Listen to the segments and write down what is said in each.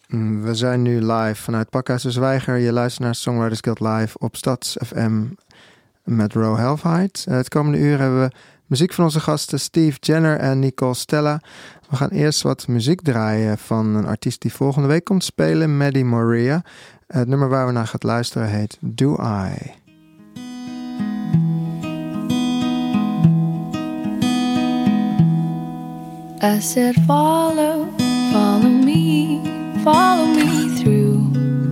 We zijn nu live vanuit Pakhuis de Zwijger. Je luistert naar Songwriters Guild Live op Stads FM met Ro Halfheid. Het komende uur hebben we muziek van onze gasten Steve Jenner en Nicole Stella. We gaan eerst wat muziek draaien van een artiest die volgende week komt spelen, Maddie Moria. Het nummer waar we naar gaan luisteren heet Do I. I said follow me through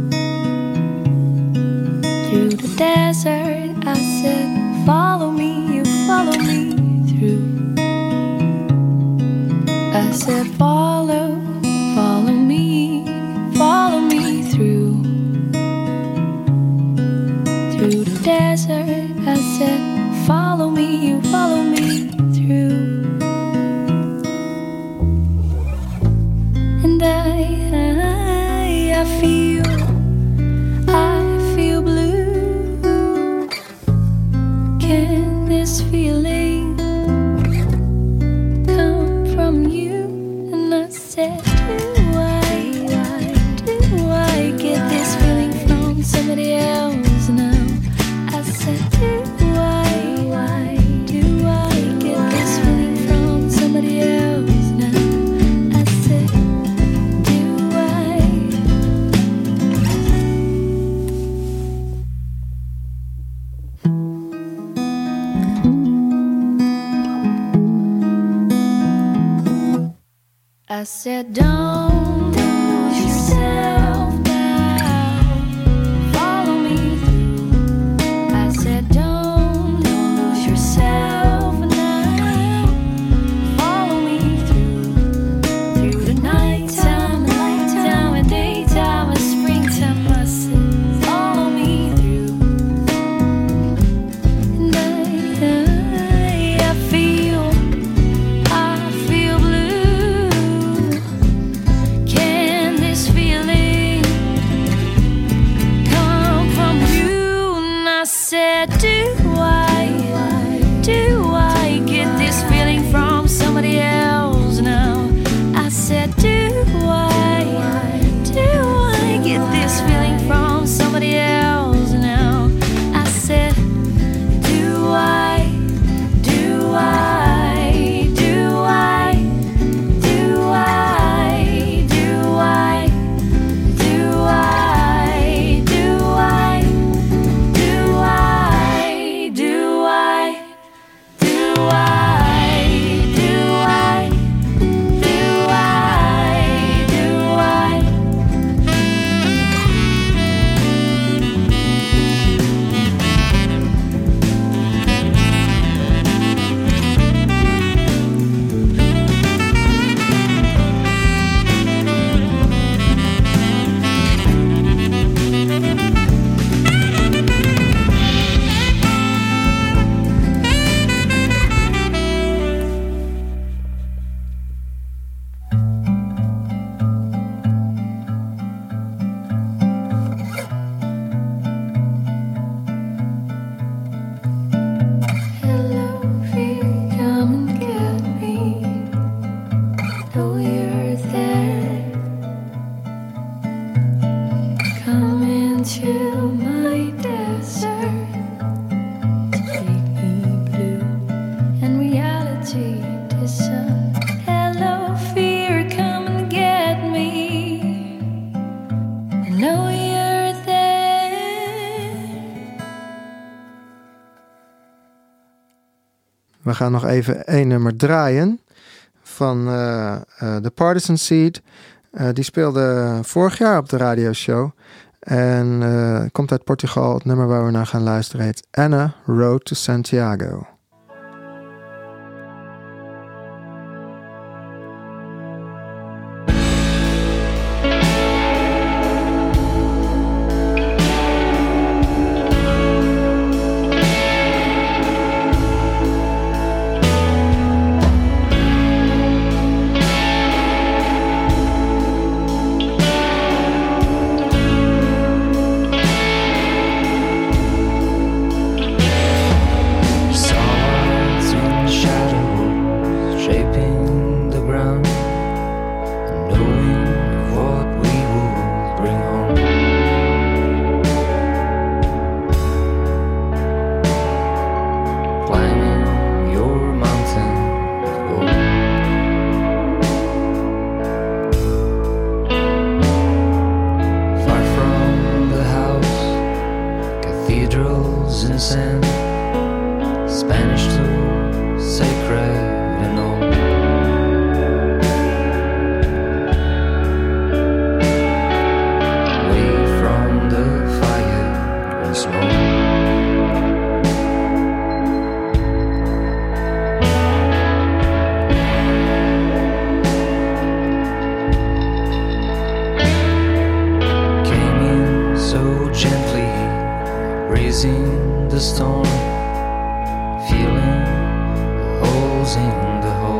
the desert. I said follow me through. I said follow me through the desert. I said follow me through. And I feel blue. Can this feeling come from you? And I said, do I get this feeling from somebody else now? I said, do I get this feeling from somebody else? I said, don't lose yourself now. Follow me through. I said, don't lose yourself now. Follow me through the nighttime and daytime and springtime. I said, follow me through. And I feel blue. Can this feeling come from you? And I said, do I get this feeling from somebody else now? I said, do I get this feeling from somebody else now? I said, do I We gaan nog even één nummer draaien van The Partisan Seed. Die speelde vorig jaar op de radioshow. En komt uit Portugal. Het nummer waar we naar gaan luisteren heet Anna Road to Santiago. Saw raising the storm, feeling the holes in the hole.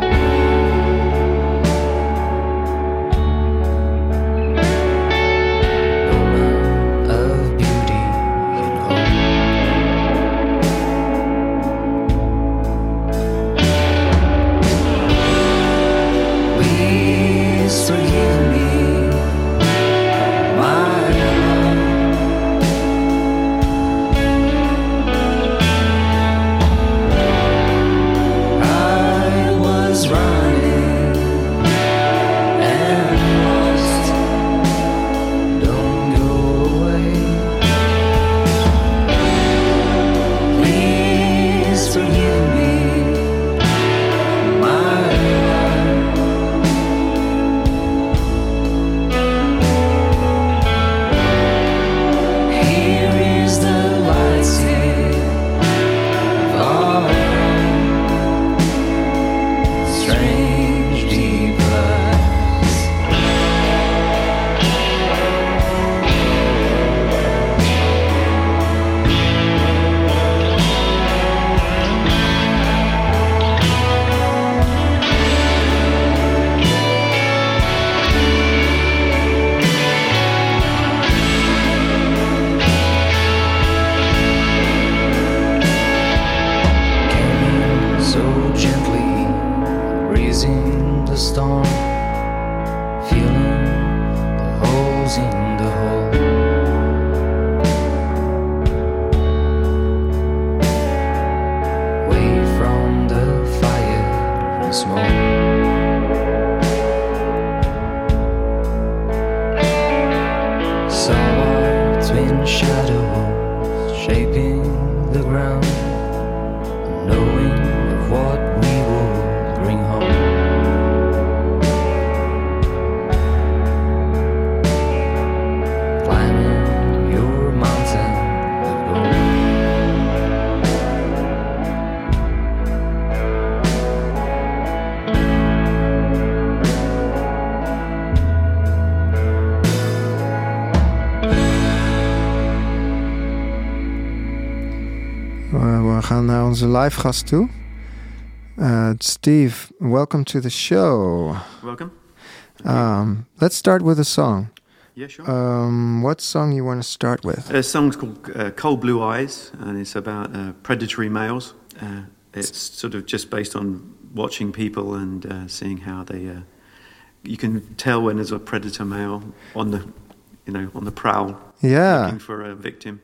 We gaan naar onze live gast toe. Steve, welcome to the show. Welcome. Let's start with a song. Yeah, sure. What song you want to start with? A song's called Cold Blue Eyes, and it's about predatory males. It's sort of just based on watching people and seeing how they. You can tell when there's a predator male on the prowl, looking for a victim.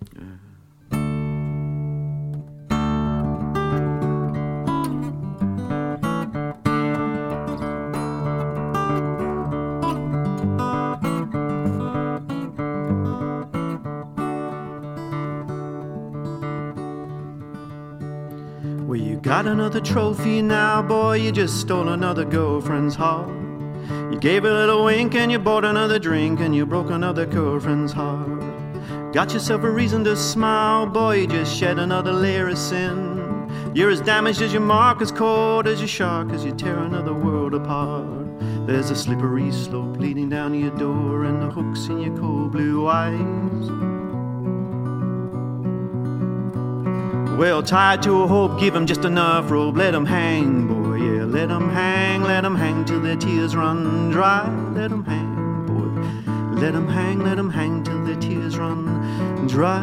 Well, you got another trophy now, boy, you just stole another girlfriend's heart. You gave a little wink and you bought another drink and you broke another girlfriend's heart. Got yourself a reason to smile, boy, you just shed another layer of sin. You're as damaged as your mark, as cold as your shark, as you tear another world apart. There's a slippery slope leading down to your door and the hooks in your cold blue eyes. Well, tied to a hope, give 'em just enough rope. Let 'em hang, boy, yeah, let 'em hang till their tears run dry. Let 'em hang, boy, let 'em hang till their tears run dry.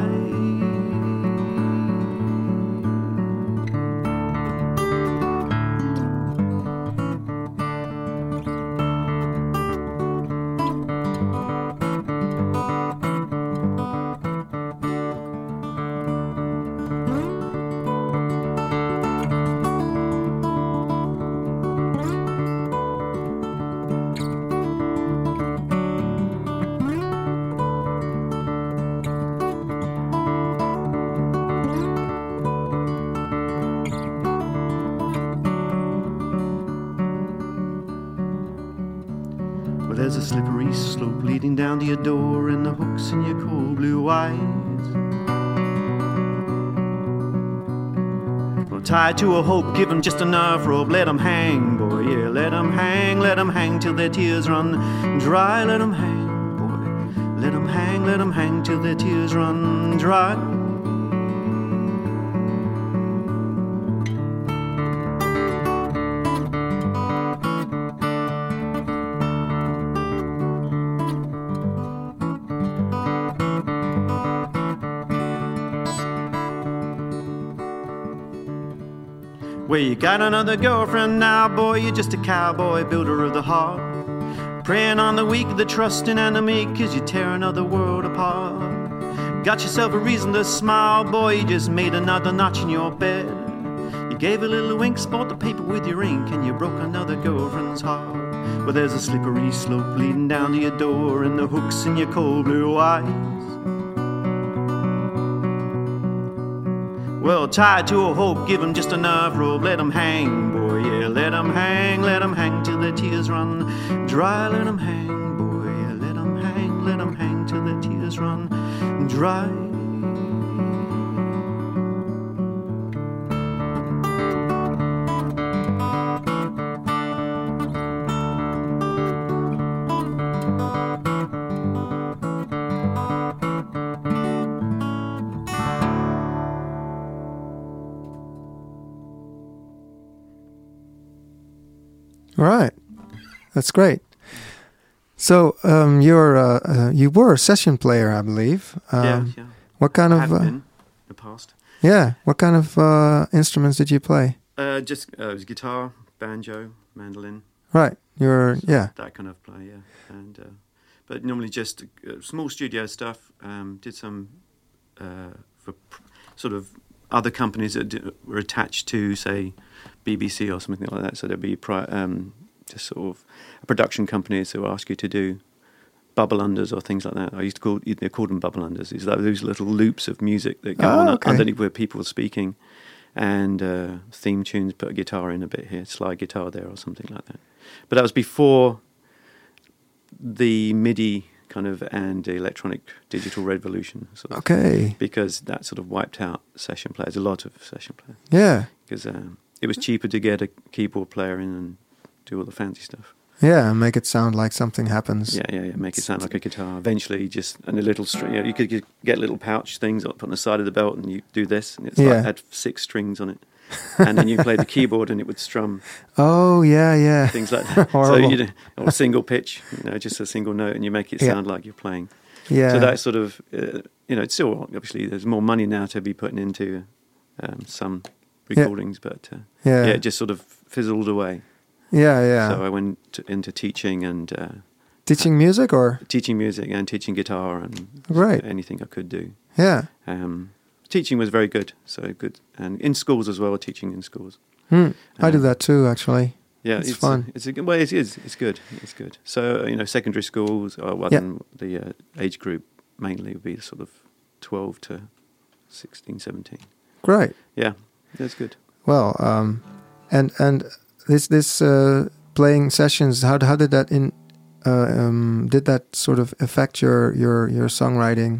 Well, there's a slippery slope leading down to your door and the hooks in your cold blue eyes. Well, tied to a hope, give 'em just enough rope. Let 'em hang, boy, yeah, let 'em hang till their tears run dry. Let 'em hang, boy, let 'em hang till their tears run dry. Well, you got another girlfriend now, boy, you're just a cowboy, builder of the heart. Preying on the weak, the trusting and the meek, 'cause you tear another world apart. Got yourself a reason to smile, boy, you just made another notch in your bed. You gave a little wink, spot the paper with your ink, and you broke another girlfriend's heart. Well, there's a slippery slope leading down to your door, and the hooks in your cold blue eyes. Well, tied to a hope, give 'em just enough rope, let 'em hang, boy, yeah, let 'em hang till the tears run dry, let 'em hang, boy, yeah, let 'em hang till the tears run dry. Right, that's great. So you were a session player, I believe. Yeah. What kind Have of been in the past. yeah? What kind of instruments did you play? Just it was guitar, banjo, mandolin. Right, That kind of play, yeah. And but normally just small studio stuff. Did some for sort of other companies that were attached to, say, BBC or something like that. So there'd be just sort of production companies who ask you to do bubble unders or things like that. I used to they called them bubble unders. It's like those little loops of music that go on underneath where people are speaking, and theme tunes. Put a guitar in a bit here, slide guitar there, or something like that. But that was before the MIDI kind of and the electronic digital revolution. Sort of, Okay. because that sort of wiped out session players, a lot of session players. Yeah. Because it was cheaper to get a keyboard player in and do all the fancy stuff. Yeah, and make it sound like something happens. Yeah. Make it sound like a guitar. Eventually, and a little string. You could get little pouch things up on the side of the belt, and you do this, and it's like had 6 strings on it, and then you play the keyboard, and it would strum. Oh yeah. Things like that. Horrible. Or a single pitch, just a single note, and you make it sound like you're playing. Yeah. So that sort of, it's still obviously there's more money now to be putting into some recordings, but it just sort of fizzled away. Yeah. So I went into teaching and teaching music or teaching music and teaching guitar and anything I could do. Yeah. Teaching was very good, so good, and in schools as well. Teaching in schools. I do that too, actually. Yeah, it's fun. It's good. It's good. So secondary schools. The age group mainly would be sort of 12 to 16, 17. Great. Yeah, that's good. Well, and this playing sessions. How did that did that sort of affect your songwriting?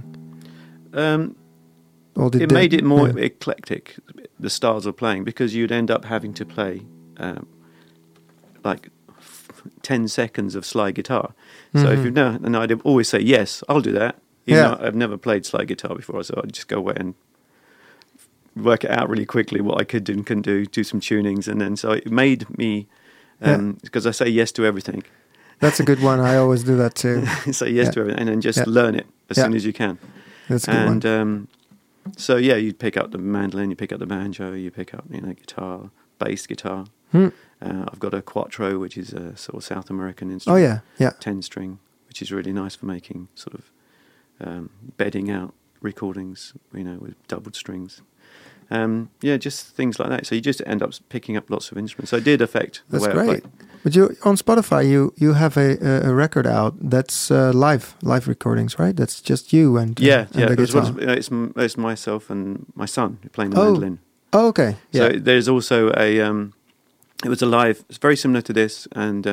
It made it more eclectic, the styles of playing, because you'd end up having to play like 10 seconds of slide guitar. So if you've never, and I'd always say, yes, I'll do that. Even though I've never played slide guitar before, so I'd just go away and work it out really quickly what I could do and couldn't do some tunings. And then so it made me, because I say yes to everything. That's a good one. I always do that too. Say yes to everything, and then just learn it as soon as you can. That's a good one. So you'd pick up the mandolin, you pick up the banjo, you pick up guitar, bass guitar. I've got a quattro, which is a sort of South American instrument. Oh yeah. 10-string, which is really nice for making sort of bedding out recordings, with doubled strings. Just things like that. So you just end up picking up lots of instruments. So it did affect the way I played. But on Spotify, you have a record out that's live recordings, right? That's just you and the guitar. It's myself and my son playing the mandolin. Oh, okay. Yeah. So there's also it was a live. It's very similar to this, and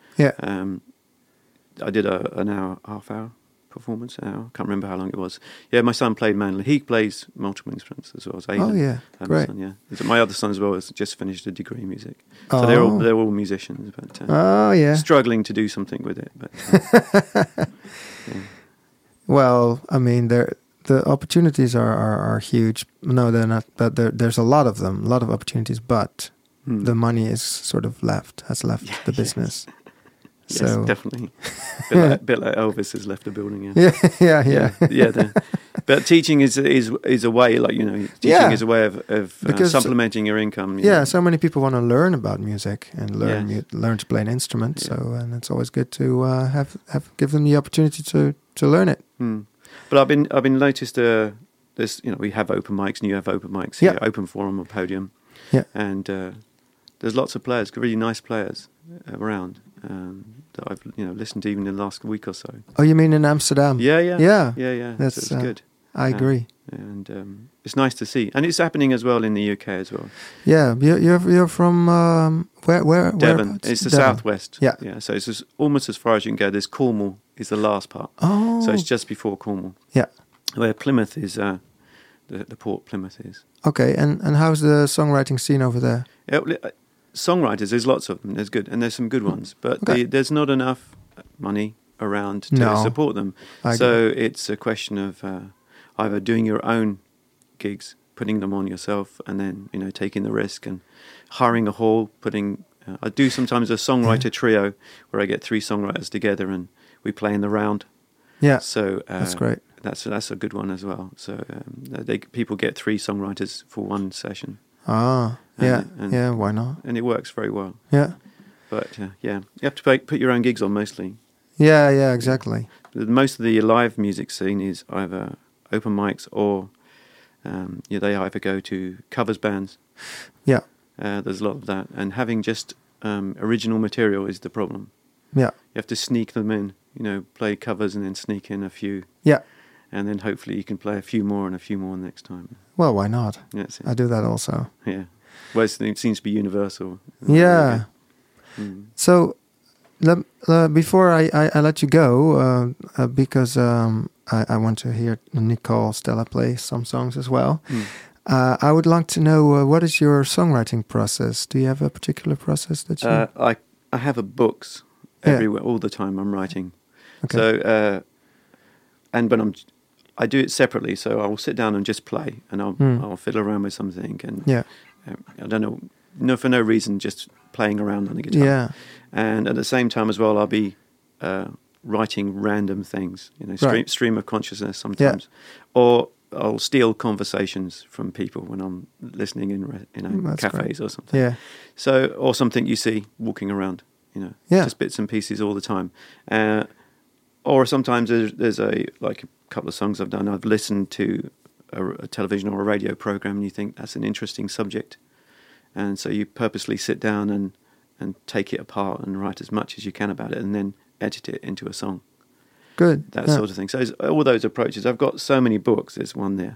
I did an hour, half hour performance. An hour. Can't remember how long it was. Yeah, my son played mandolin. He plays multiple instruments as well as Aidan. Oh yeah, great. Son, my other son as well has just finished a degree in music. So they're all musicians, but struggling to do something with it. But well, I mean, the opportunities are huge. No, they're not. But there's a lot of them, a lot of opportunities. But the money is sort of has left the business. Yes, so definitely. A bit like Elvis has left the building. Yeah. But teaching is a way, like, teaching is a way of Because- supplementing your income. So many people want to learn about music and learn Yes. learn to play an instrument. So and it's always good to give them the opportunity to learn it. But I've been noticed. There's we have open mics, and you have open mics here, Yeah. open forum or podium. Yeah. And there's lots of players, really nice players around that I've listened to even in the last week or so. Oh, you mean in Amsterdam? Yeah. That's, So it's good. I agree. And it's nice to see, and it's happening as well in the UK as well. Yeah, you're from where? Devon, whereabouts? it's the Devon. southwest. Yeah. So it's almost as far as you can go. There's Cornwall is the last part. Oh, So it's just before Cornwall. Yeah. Where Plymouth is, the port Plymouth is. Okay, and how's the songwriting scene over there? Songwriters, there's lots of them. There's good, and there's some good ones, but Okay. there's not enough money around to No. support them. I So agree. it's a question of either doing your own gigs, putting them on yourself, and then taking the risk and hiring a hall. I do sometimes a songwriter trio where I get 3 songwriters together and we play in the round. Yeah, So that's great. That's a good one as well. So people get 3 songwriters for one session, Ah, and- yeah, why not? and it works very well. Yeah, But you have to put your own gigs on mostly. yeah, exactly. Most of the live music scene is either open mics or they either go to covers bands. Yeah, There's a lot of that, and having just original material is the problem. yeah, You have to sneak them in, play covers and then sneak in a few, yeah. and then hopefully you can play a few more and a few more next time. Well, why not? That's it. I do that also. Yeah. Well, it seems to be universal. Yeah. Mm. So, before I let you go, because I want to hear Nicole Stella play some songs as well. Mm. I would like to know what is your songwriting process? Do you have a particular process that you? I have books Yeah. everywhere all the time. I'm writing. Okay. So, I do it separately. So I will sit down and just play, and I'll fiddle around with something, and Yeah, I don't know, for no reason, just playing around on the guitar. yeah, And at the same time as well, I'll be writing random things, Right. stream of consciousness sometimes, or I'll steal conversations from people when I'm listening in That's cafes great. or something. yeah, So, or something you see walking around, Yeah. just bits and pieces all the time. Or sometimes there's a couple of songs I've done. I've listened to a television or a radio program, and you think that's an interesting subject, and so you purposely sit down and take it apart and write as much as you can about it, and then edit it into a song. good. That Yeah. sort of thing. So it's all those approaches. I've got so many books. There's one there,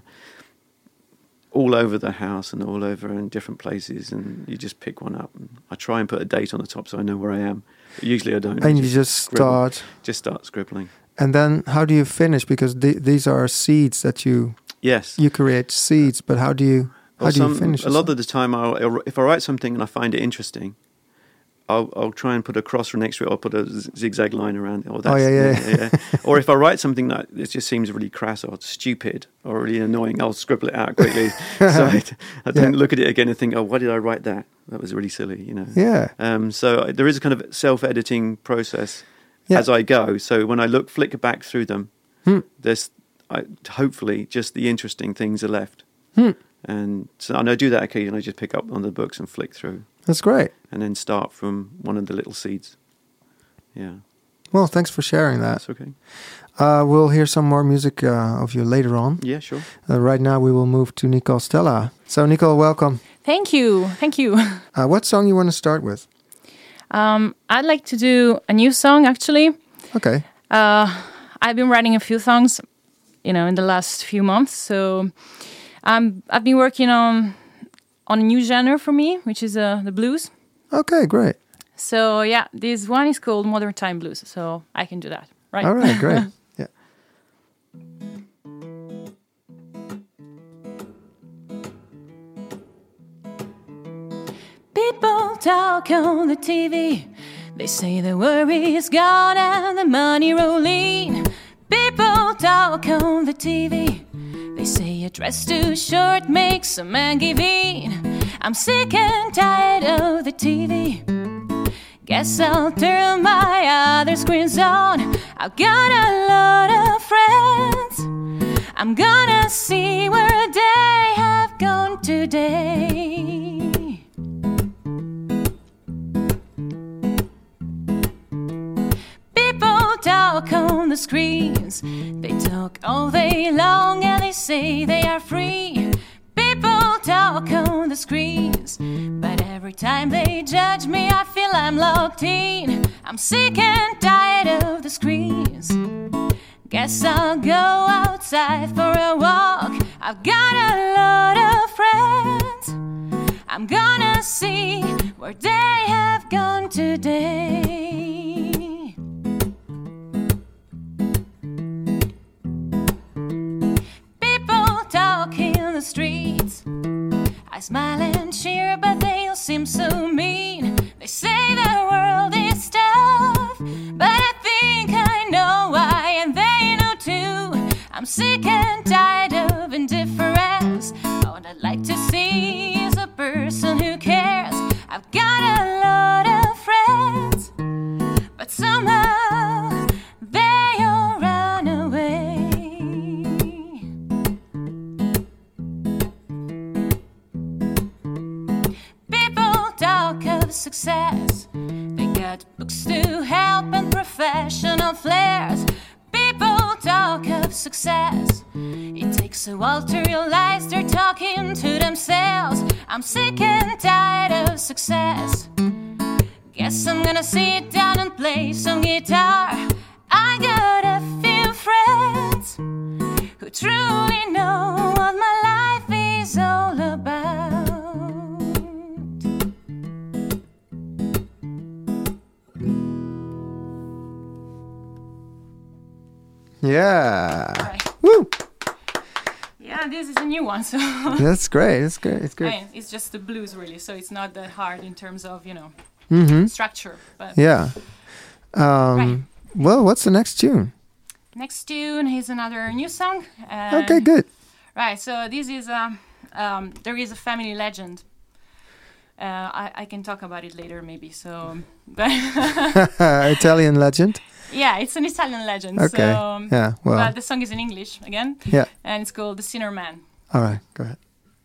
all over the house and all over in different places, and you just pick one up. And I try and put a date on the top so I know where I am. But usually I don't. I And you just scribble. start, start scribbling. and then how do you finish? Because these are seeds that you Yes. create seeds, but how do you finish? A lot of the time, if I write something and I find it interesting, I'll try and put a cross next to it, or put a zigzag line around it. Or yeah. Or if I write something that it just seems really crass or stupid or really annoying, I'll scribble it out quickly. So I don't look at it again and think, oh, why did I write that? That was really silly, Yeah, So there is a kind of self-editing process Yeah. as I go. So when I flick back through them, there's hopefully just the interesting things are left. And I do that occasionally. I just pick up on the books and flick through, that's great. and then start from one of the little seeds. Yeah, Well, thanks for sharing that. that's okay. We'll hear some more music of you later on. Yeah, sure. Right now, we will move to Nicole Stella. So, Nicole, welcome. Thank you. What song you want to start with? I'd like to do a new song, actually. Okay. I've been writing a few songs, in the last few months. So I've been working on a new genre for me, which is the blues. Okay, great. So yeah, this one is called Modern Time Blues. So I can do that, right? All right, great. Yeah. People talk on the TV. They say the worry's gone and the money rolling. People talk on the TV. They say a dress too short makes a man give in. I'm sick and tired of the TV. Guess I'll turn my other screens on. I've got a lot of friends. I'm gonna gonna see where they have gone today. People talk on the screens, they talk all day long and they say they are free. People talk on the screens, but every time they judge me I feel I'm locked in. I'm sick and tired of the screens. Guess I'll go outside for a walk. I've got a lot of friends. I'm gonna see where they have gone today. People talk in the streets. I smile and cheer, but they all seem so mean. They say the world is tough, but I think I know why, and they know too. I'm sick and tired of indifference. All I'd like to see is a person who cares. I've got a lot of friends, but somehow they all run away. People talk of success. They got books to help and professional flares. People talk of success. It takes a while to realize they're talking to themselves. I'm sick and tired of success. Guess I'm gonna sit down and play some guitar. I got a few friends who truly know what my life is all about. Yeah. Right. Woo! Yeah, this is a new one, so That's great. It's great. It's I great. mean, it's just the blues really, so it's not that hard in terms of, structure. But Yeah. Right. Well, what's the next tune? next tune is another new song. Okay, good. Right, so this is there is a family legend. I can talk about it later, maybe. So, but Italian legend. yeah, it's an Italian legend. Okay. So, Yeah. Well. but the song is in English again. Yeah. And it's called "The Sinner Man." All right. Go ahead.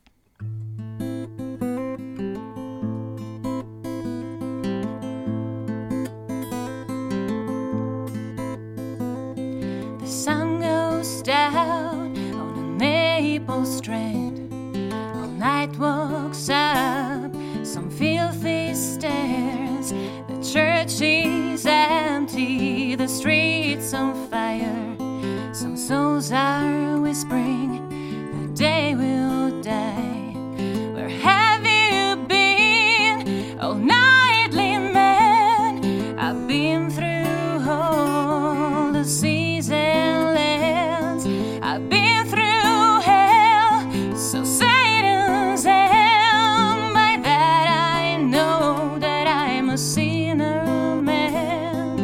The sun goes down on a maple strand. All night walks up some filthy stairs. The church is empty, the streets on fire. Some souls are whispering the day will die. Where have you been, oh nightly man? I've been through all the seas and lands. I've been through hell, so Satan's hand. By that I know that I'm a sinner man.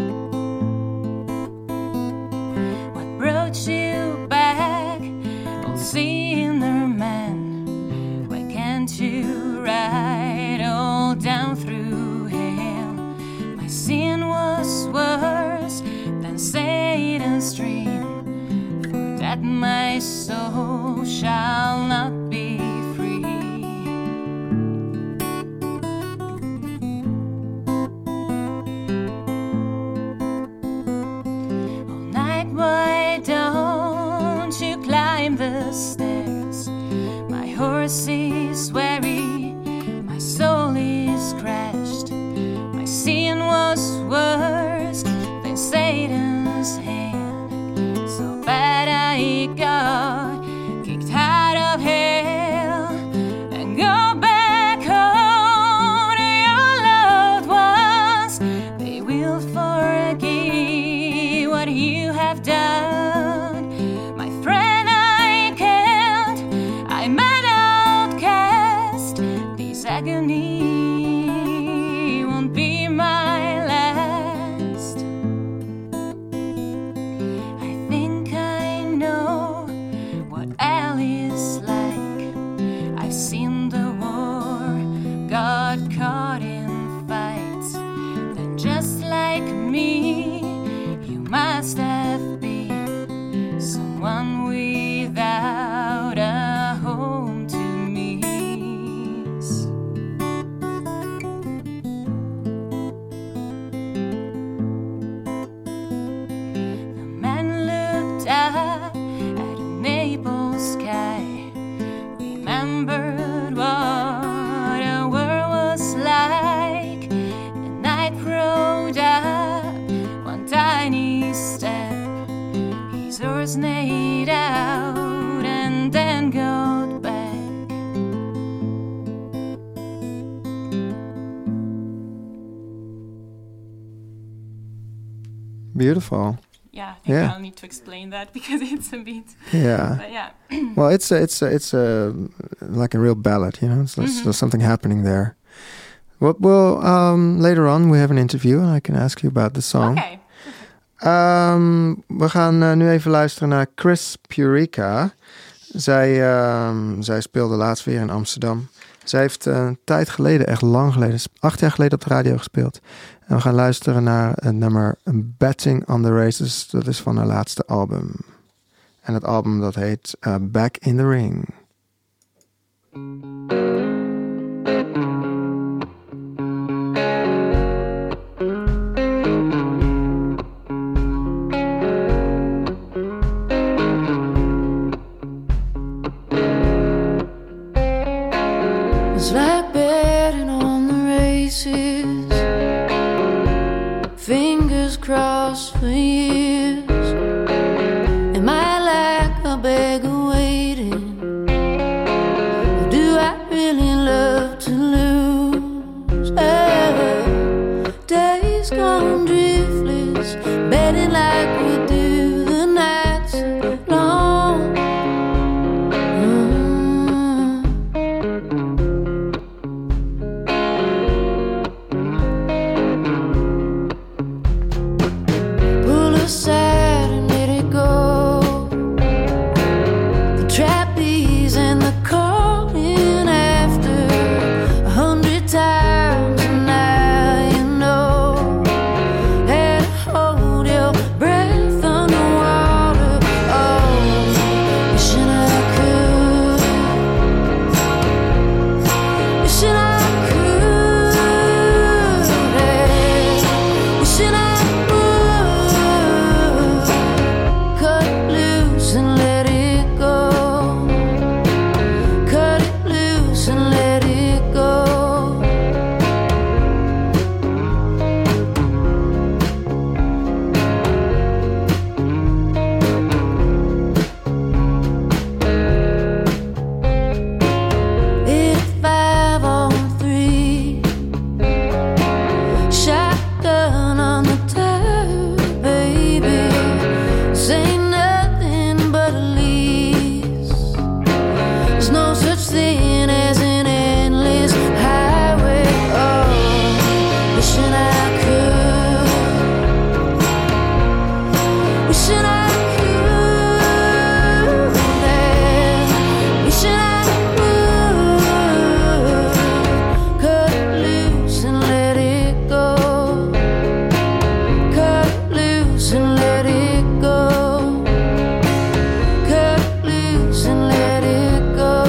What brought you back, oh sinner man? Why can't you ride all down through hell? My sin was worse than Satan's dream. For that my soul shall not be free. All night, why don't you climb the stairs? My horse is weary, my soul is crashed. My sin was worse than Satan's hand. So bad I got kicked out of hell and go back home to your loved ones. They will forgive what you have done. My friend, I can't. I'm an outcast. This agony won't be my last. I think I know what hell is like. I've seen the war, got caught in fights. Then just like me, you must have been someone without dinosaurs made out and then got back. Beautiful. Yeah, I think Yeah. I'll need to explain that because it's a bit. Yeah. But yeah. Well, it's a like a real ballad, you know. There's something happening there. Well, later on we have an interview and I can ask you about the song. Okay. We gaan nu even luisteren naar Chris Purica. Zij speelde laatst weer in Amsterdam. Zij heeft een tijd geleden, echt lang geleden, 8 jaar geleden op de radio gespeeld. En we gaan luisteren naar het nummer Betting on the Races. Dat is van haar laatste album. En het album dat heet Back in the Ring. It's like betting on the races, fingers crossed for years. Am I like a beggar waiting? Or do I really love to lose? Days gone driftless, betting like we do the nights long. Pull aside and let it go. The trapeze and the calling after 100 times, and now you know. Had to hold your breath underwater. Oh, wishing I could. Wishing I could. Wishing I would cut it loose and let it go. Cut it loose and let it go. It's 5 on 3. Shotgun on the turf, baby. This ain't nothing but a lease. There's no such thing as an endless highway. Oh, wishing I could. Wishing I could. Wishing I would cut it loose and let it go. Cut it loose and let it go. Cut it loose and let it go.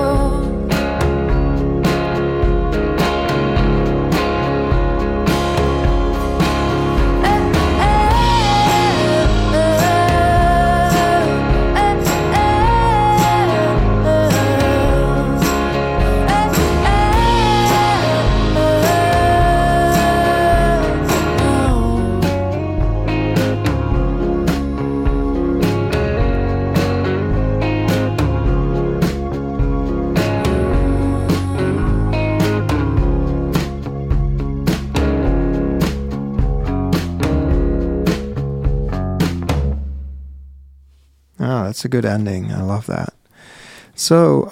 Oh, that's a good ending. I love that. So,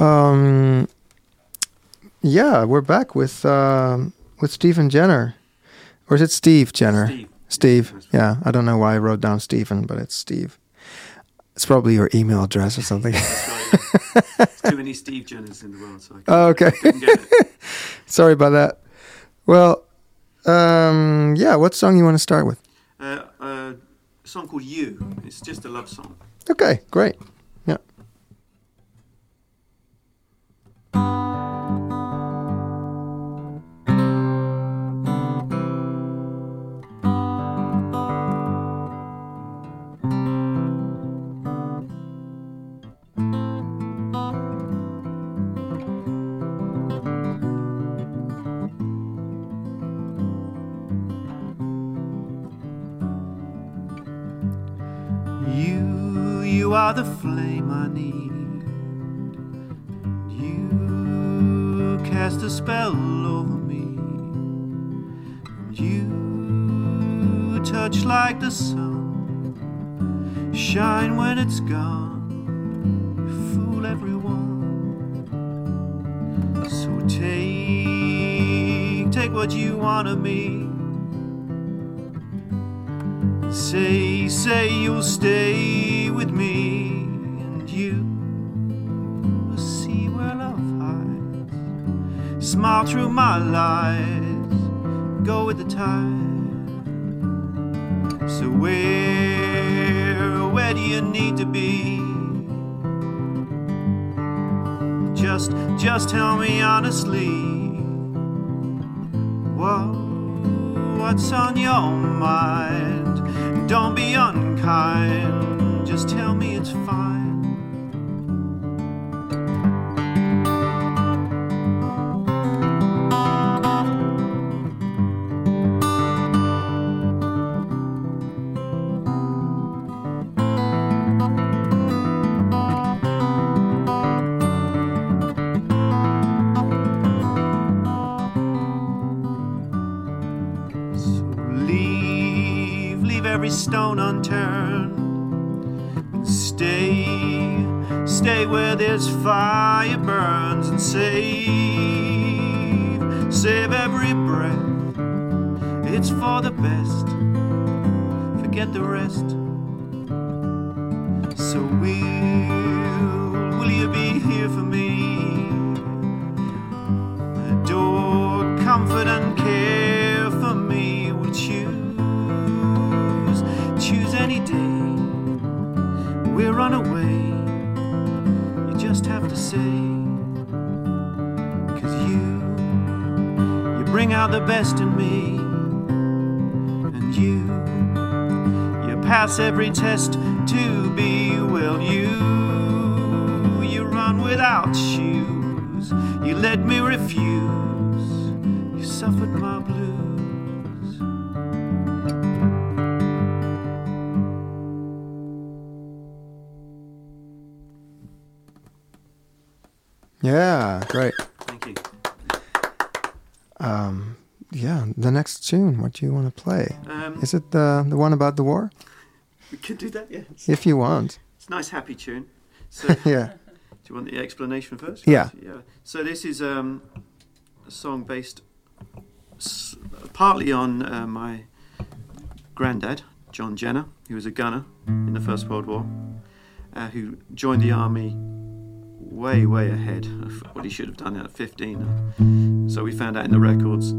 yeah, we're back with Stephen Jenner. Or is it Steve Jenner? Steve. Yeah, I don't know why I wrote down Stephen, but it's Steve. It's probably your email address or something. There's too many Steve Jenners in the world, so I Okay. couldn't get it. Sorry about that. Well, yeah, what song you want to start with? A song called You. It's just a love song. Okay, great. Yeah. You you are the flame I need. You cast a spell over me. You touch like the sun, shine when it's gone, you fool everyone. So take what you want of me. Say you'll stay with me, and you will see where love hides. Smile through my lies, go with the tide. So where do you need to be? Just tell me honestly, what's on your mind? Don't be unkind, just tell me it's fine. Every stone unturned, and stay where this fire burns, and save every breath. It's for the best, forget the rest. So will you be here for me? Adore, comfort and care for me. Will choose any day. We'll run away. You just have to say, 'cause you bring out the best in me, and you pass every test to be. Well, you run without shoes. You let me refuse. You suffered my blues. Yeah, great. Thank you. Yeah, the next tune, what do you want to play? Is it the one about the war? We could do that, yeah. If you want. It's a nice, happy tune. So, yeah. Do you want the explanation first? Yeah. Yeah. So this is a song based partly on my granddad, John Jenner, who was a gunner in the First World War, who joined the army way ahead of what he should have done at 15. So we found out in the records.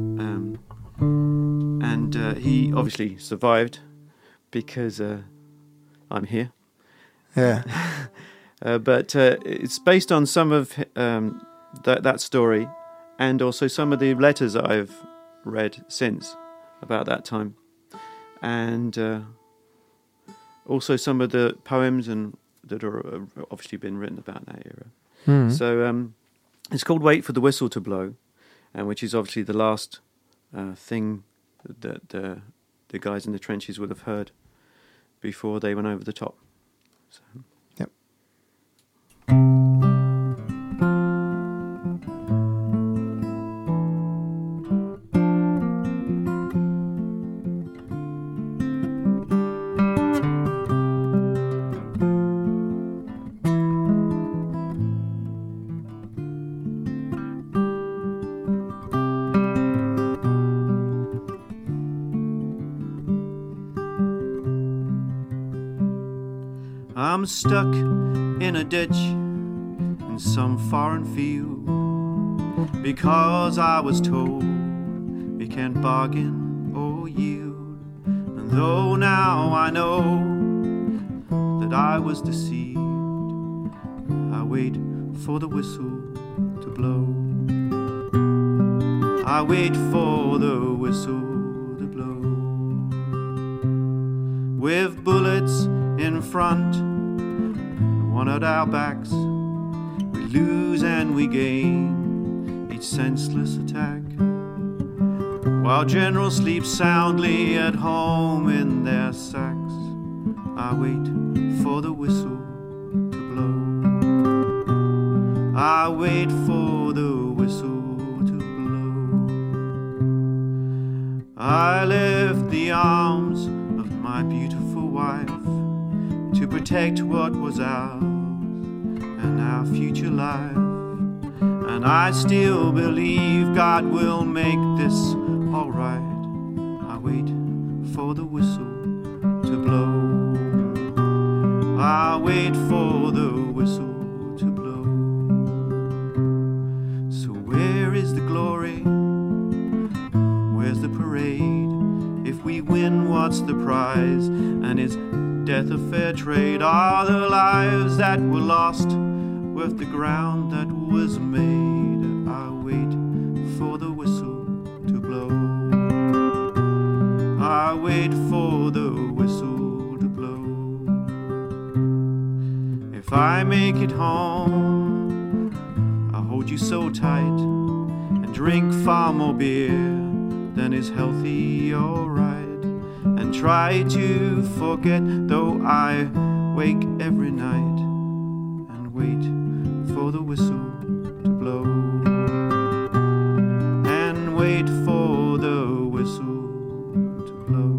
And he obviously survived because I'm here. Yeah. But it's based on some of that story, and also some of the letters that I've read since about that time, and also some of the poems and that are obviously been written about that era. Mm. So it's called "Wait for the Whistle to Blow," and which is obviously the last thing that the guys in the trenches would have heard before they went over the top. So. Yep. I'm stuck in a ditch in some foreign field because I was told we can't bargain or yield. And though now I know that I was deceived, I wait for the whistle to blow. I wait for the whistle to blow. With bullets in front, one at our backs, we lose and we gain each senseless attack, while generals sleep soundly at home in their sacks. I wait for for the whistle to blow. I wait for the whistle to blow. I left the arms of my beautiful wife to protect what was ours and our future life. And I still believe God will make this alright. I wait for the whistle to blow. I wait for the whistle to blow. So where is the glory? Where's the parade? If we win, what's the prize? And is death a fair trade? Are the lives that were lost worth the ground that was made? I wait for the whistle to blow. I wait for the whistle to blow. If I make it home, I'll hold you so tight and drink far more beer than is healthy or right, and try to forget, though I wake every night and wait for the whistle to blow. And wait for the whistle to blow.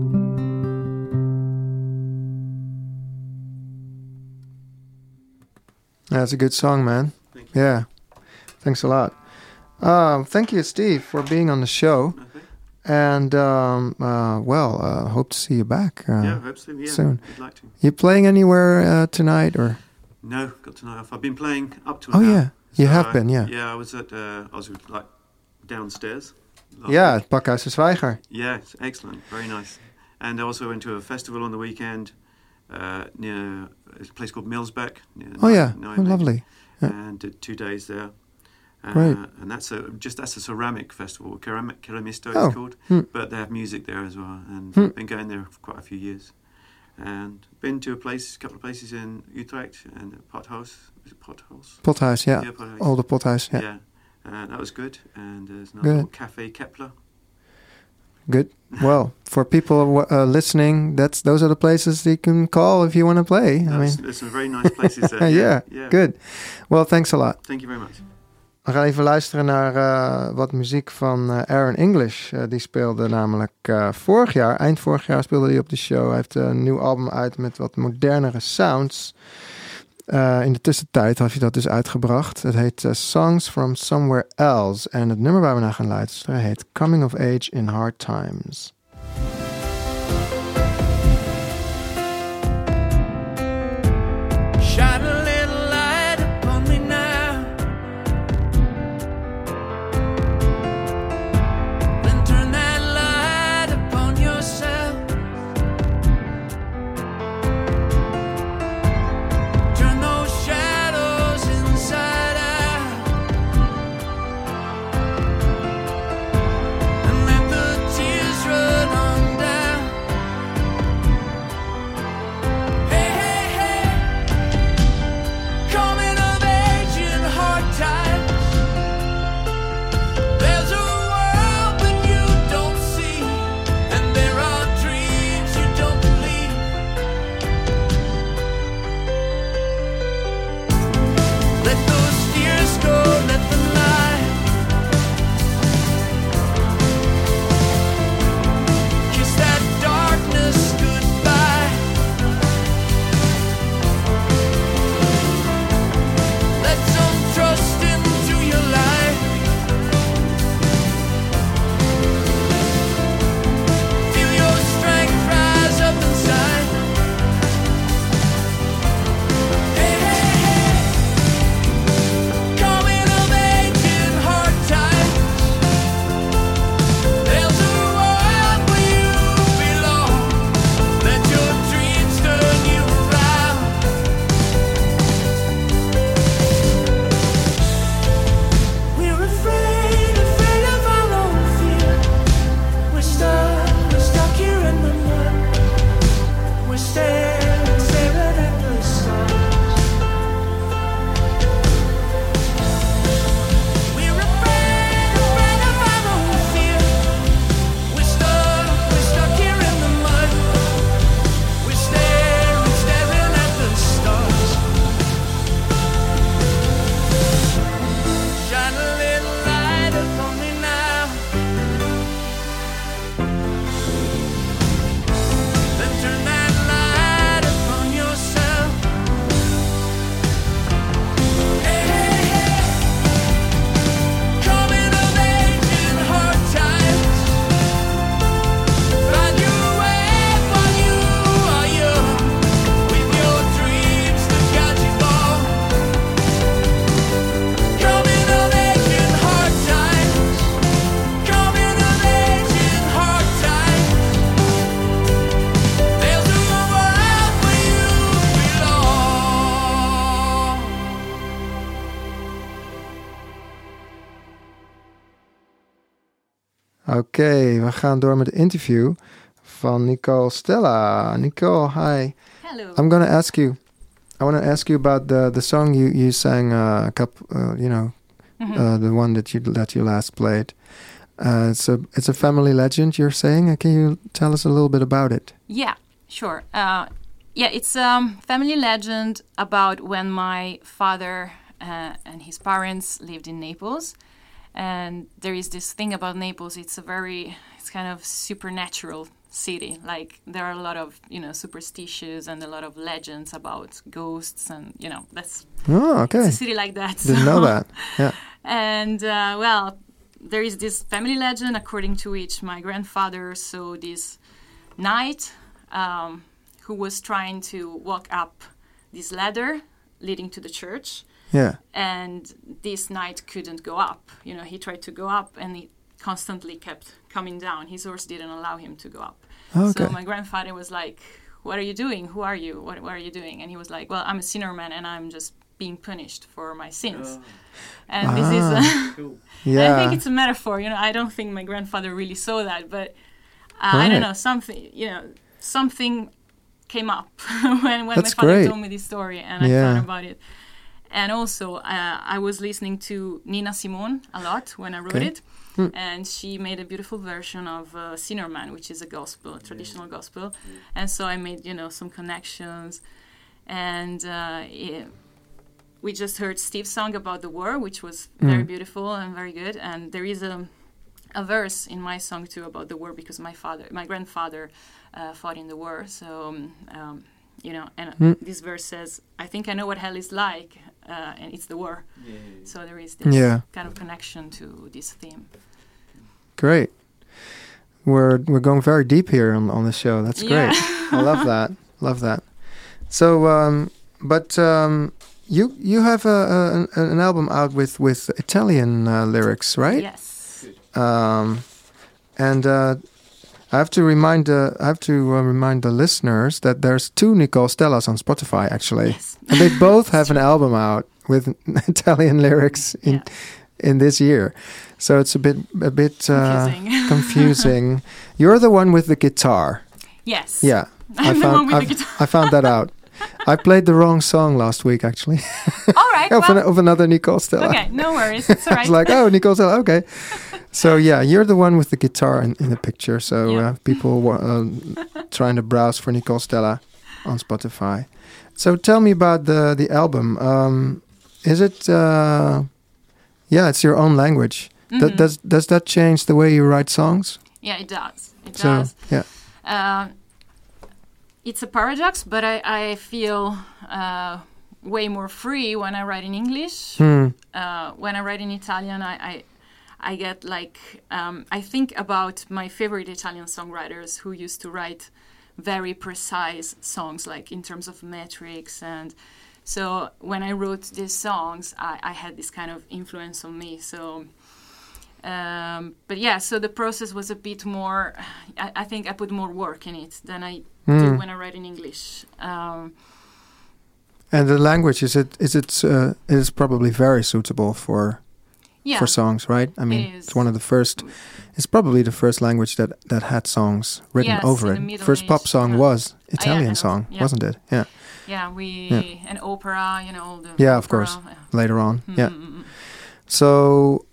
That's a good song, man. Thank you. Yeah. Thanks a lot. Thank you, Steve, for being on the show. Okay. And, hope to see you back Yeah, I hope so. Yeah, soon. I'd like to. You playing anywhere tonight, or? No, got tonight off. I've been playing up to Oh, now. yeah. You have been, yeah. Yeah, I was like downstairs. Yeah, het Pakhuis de Zwijger. Yeah, it's excellent. Very nice. And I also went to a festival on the weekend near a place called Millsbeck. Oh, yeah. Nijmegen, Oh, lovely. Yeah. And did 2 days there. Great. And that's a ceramic festival. Keramisto Oh, it's called. hmm. But they have music there as well. And Hmm. I've been going there for quite a few years. And been to a couple of places in Utrecht and Pothuis. Is it Pothuis? Pothuis, yeah. Yeah, Pothuis. Olde Pothuis, yeah. Yeah. That was good. And there's another Good. little Cafe Kepler. Good. Well, for people listening, those are the places you can call if you want to play. There's some very nice places there. yeah, good. Well, thanks a lot. Thank you very much. We gaan even luisteren naar wat muziek van Aaron English. Die speelde namelijk eind vorig jaar speelde hij op de show. Hij heeft een nieuw album uit met wat modernere sounds. In de tussentijd had hij dat dus uitgebracht. Het heet Songs from Somewhere Else. En het nummer waar we naar gaan luisteren heet Coming of Age in Hard Times. Shine a little light upon me now, then turn that light upon yourself. Turn those shadows inside out, and let the tears run Oké, we gaan door met het interview van Nicole Stella. Nicole, hi. Hello. I want to ask you about the song you sang a couple, the one that you last played. It's a family legend you're saying. Can you tell us a little bit about it? Yeah, sure. It's a family legend about when my father and his parents lived in Naples. And there is this thing about Naples. It's kind of supernatural city. Like there are a lot of superstitions and a lot of legends about ghosts, and that's okay. It's a city like that. Didn't know that. Yeah. And there is this family legend according to which my grandfather saw this knight who was trying to walk up this ladder leading to the church. Yeah. And this knight couldn't go up. He tried to go up and he constantly kept coming down. His horse didn't allow him to go up. Okay. So my grandfather was like, "What are you doing? Who are you? What are you doing?" And he was like, "Well, I'm a sinner man and I'm just being punished for my sins." And this is Cool. Yeah. I think it's a metaphor. I don't think my grandfather really saw that, but I Right. don't know, something came up when my That's father great. told me this story, and I Yeah. thought about it. And also, I was listening to Nina Simone a lot when I wrote Okay. it, and she made a beautiful version of Sinner Man, which is a gospel, a traditional gospel. And so I made, some connections, and we just heard Steve's song about the war, which was very beautiful and very good. And there is a verse in my song too about the war, because my grandfather fought in the war. So, this verse says, "I think I know what hell is like, and it's the war." So there is this kind of connection to this theme. Great. We're going very deep here on the show. That's great. Yeah. I love that. Love that. So, you have an album out with Italian lyrics, right? Yes. And I have to remind the listeners that there's 2 Nicole Stellas on Spotify actually, Yes. and they both have an album out with Italian lyrics in this year. So it's a bit Confusing. confusing. You're the one with the guitar. Yes. Yeah, I'm the one with the guitar. I found that out. I played the wrong song last week actually. All right. of another Nicole Stella. Okay, no worries. It's all I right. was like, oh, Nicole Stella, okay. So yeah, you're the one with the guitar in the picture. So Yeah. people trying to browse for Nicole Stella on Spotify. So tell me about the album. Is it? It's your own language. Mhm. Does that change the way you write songs? Yeah, it does. It So does. yeah, It's a paradox, but I feel way more free when I write in English. When I write in Italian, I get like I think about my favorite Italian songwriters who used to write very precise songs, like in terms of metrics. And so when I wrote these songs, I had this kind of influence on me. So but yeah, so the process was a bit more, I think I put more work in it than I do when I write in English. and the language is probably very suitable for songs, right? I mean, It is. it's one of the first. It's probably the first language that had songs written Yes, over in it. the Middle First pop Age, song was Italian kind of, song, yeah. wasn't it? Yeah. Yeah, and opera, all the Yeah, of opera, course. Later on, yeah. Mm. So,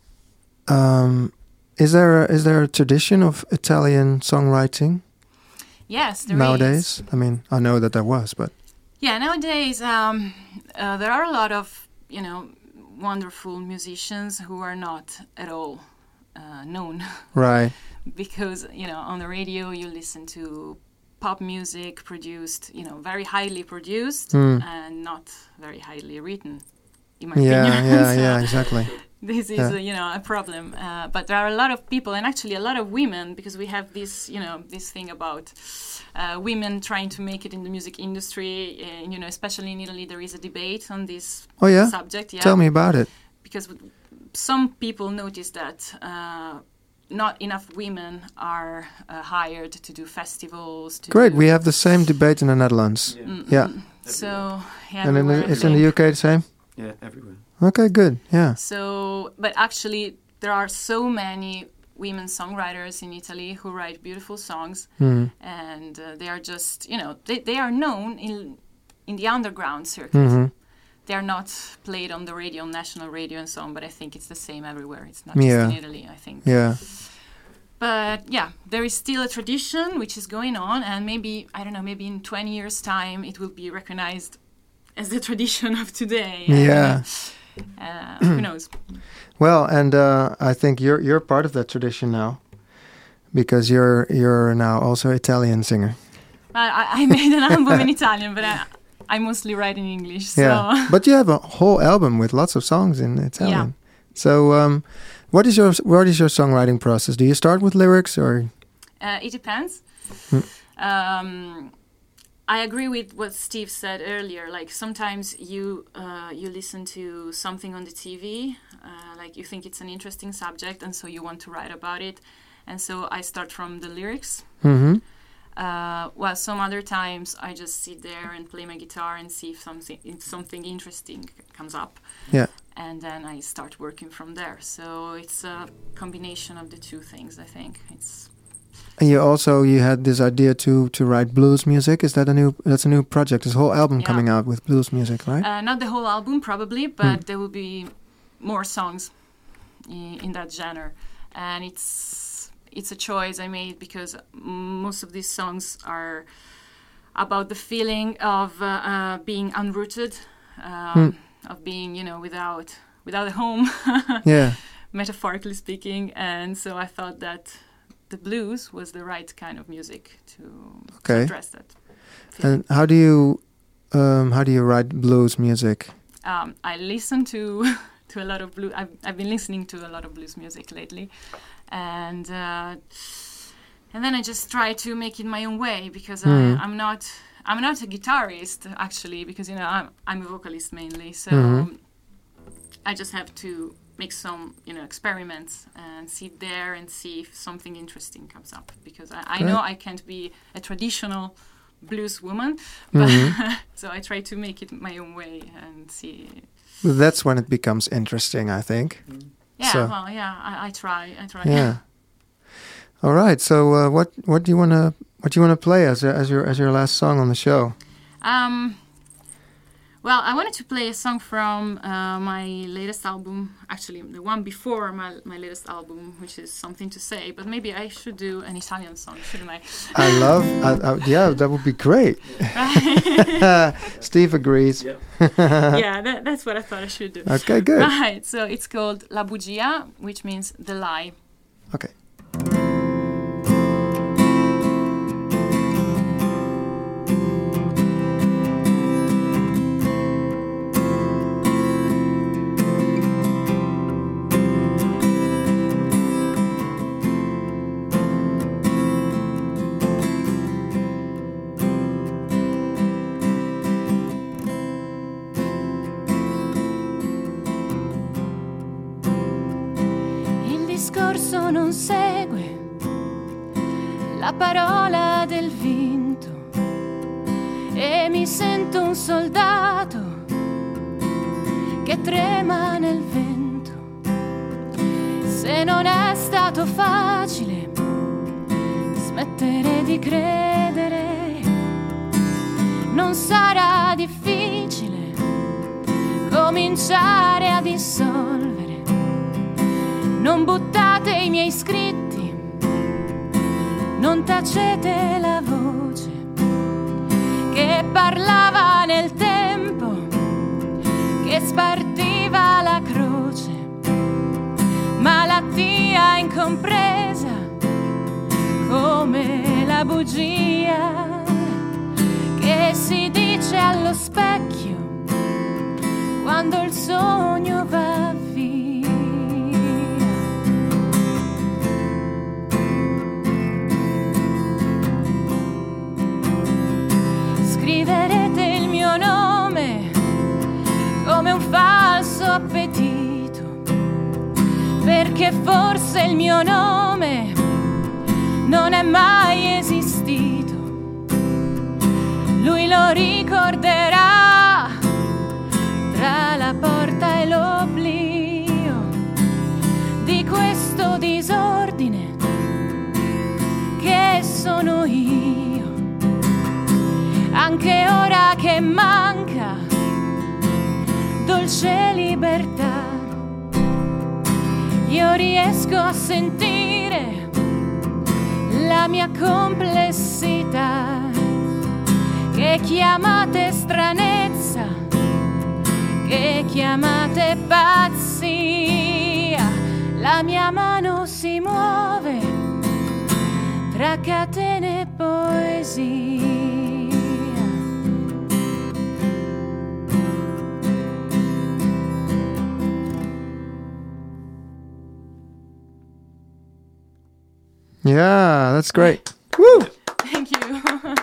is there a tradition of Italian songwriting Yes, there nowadays? is. I mean, I know that there was, but Yeah, nowadays there are a lot of wonderful musicians who are not at all known right. because on the radio you listen to pop music produced, very highly produced and not very highly written, in my Yeah, opinion. So yeah, exactly. This is a problem. But there are a lot of people, and actually a lot of women, because we have this this thing about women trying to make it in the music industry. Especially in Italy, there is a debate on this Oh yeah. subject. Yeah, Tell me about it. because some people notice that not enough women are hired to do festivals. Great. We have the same debate in the Netherlands. Yeah. So And it's in the UK the same? Yeah, everywhere. Okay, good. Yeah. So, but actually, there are so many women songwriters in Italy who write beautiful songs, and they are just, they are known in the underground circuit. They are not played on the radio, on national radio and so on, but I think it's the same everywhere. It's not just in Italy, I think. Yeah. But yeah, there is still a tradition which is going on, and maybe, I don't know, maybe in 20 years' time it will be recognized as the tradition of today. Yeah. Who knows? Well, and I think you're part of that tradition now, because you're now also Italian singer. I made an album in Italian, but I mostly write in English. So. Yeah, but you have a whole album with lots of songs in Italian. Yeah. So, what is your songwriting process? Do you start with lyrics or? It depends. I agree with what Steve said earlier. Like sometimes you listen to something on the TV, like you think it's an interesting subject, and so you want to write about it, and so I start from the lyrics. While some other times I just sit there and play my guitar and see if something interesting comes up. Yeah. And then I start working from there. So it's a combination of the two things, I think. And you had this idea to write blues music. Is that that's a new project? This whole album coming out with blues music, right? Not the whole album probably, but there will be more songs in that genre. And it's a choice I made because most of these songs are about the feeling of being unrooted, of being, without a home, metaphorically speaking. And so I thought that the blues was the right kind of music to address that feeling. And how do you write blues music? I listen to a lot of blues. I've been listening to a lot of blues music lately. And then I just try to make it my own way because I'm not a guitarist actually, because I'm a vocalist mainly, so I just have to make some experiments and sit there and see if something interesting comes up, because I know I can't be a traditional blues woman, but so I try to make it my own way and see. That's when it becomes interesting, I think. Yeah, so. well, yeah, I try. Yeah. All right. So, what do you wanna play as your last song on the show? Well, I wanted to play a song from my latest album, actually the one before my latest album, which is Something to Say. But maybe I should do an Italian song, shouldn't I? Yeah, that would be great. Steve agrees. Yep. Yeah, that's what I thought I should do. Okay, good. Right, so it's called La Bugia, which means the lie. Okay. Non segue la parola del vinto e mi sento un soldato che trema nel vento. Se non è stato facile smettere di credere, non sarà difficile cominciare a dissolvere. Non buttate i miei scritti, non tacete la voce che parlava nel tempo, che spartiva la croce, malattia incompresa come la bugia che si dice allo specchio quando il sogno va via. Scriverete il mio nome come un falso appetito, perché forse il mio nome non è mai esistito. Lui lo ricorderà tra la porta e l'oblio di questo disordine dolce libertà. Io riesco a sentire la mia complessità, che chiamate stranezza, che chiamate pazzia. La mia mano si muove tra catene e poesia. Yeah, that's great. Woo! Thank you.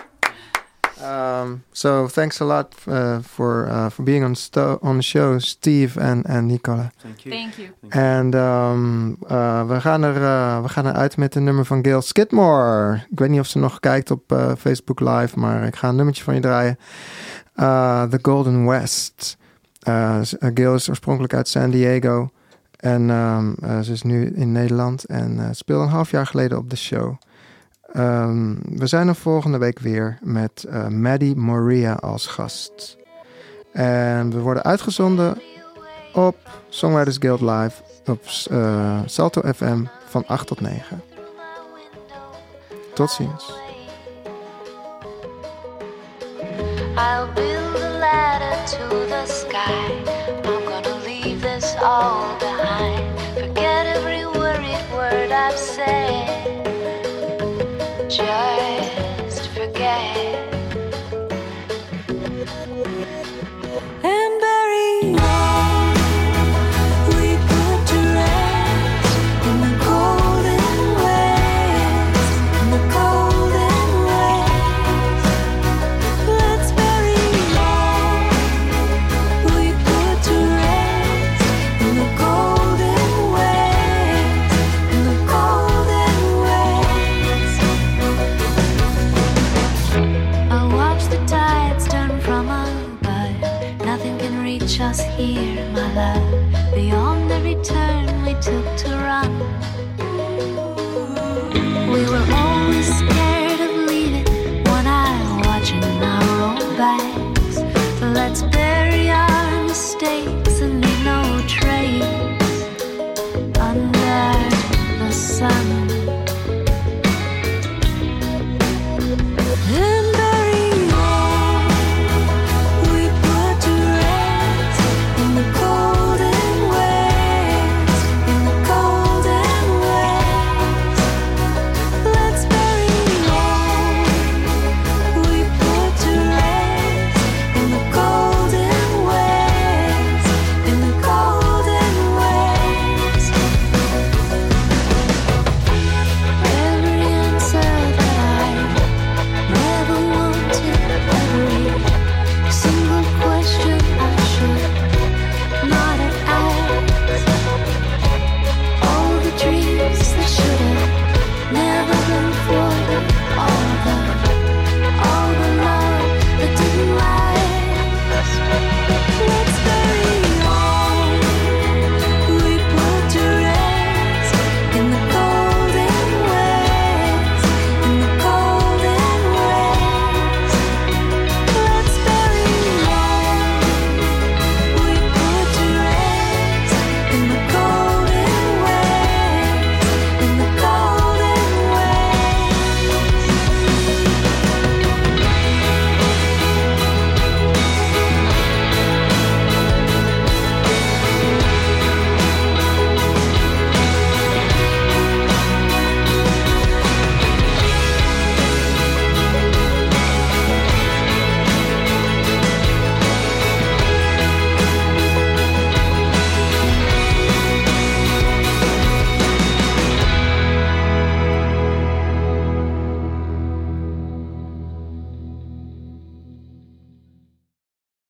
So thanks a lot for being on the show, Steve and Nicola. Thank you. Thank you. En we gaan er uit met een nummer van Gail Skidmore. Ik weet niet of ze nog kijkt op Facebook Live, maar ik ga een nummertje van je draaien. The Golden West. Gail is oorspronkelijk uit San Diego. En ze is nu in Nederland en speelde een half jaar geleden op de show. We zijn er volgende week weer met Maddie Moria als gast. En we worden uitgezonden op Songwriters Guild Live op Salto FM van 8 tot 9. Tot ziens. I'll build a ladder to the sky. I'm gonna leave this all behind. Forget every worried word I've said. Just forget. And bury all we put to rest in the golden west, in the golden west. Let's bury all we put to rest in the golden west, in the golden west. I watch the tides turn from above. Nothing can reach us here, my love. Beyond every turn we took to run, we were always scared.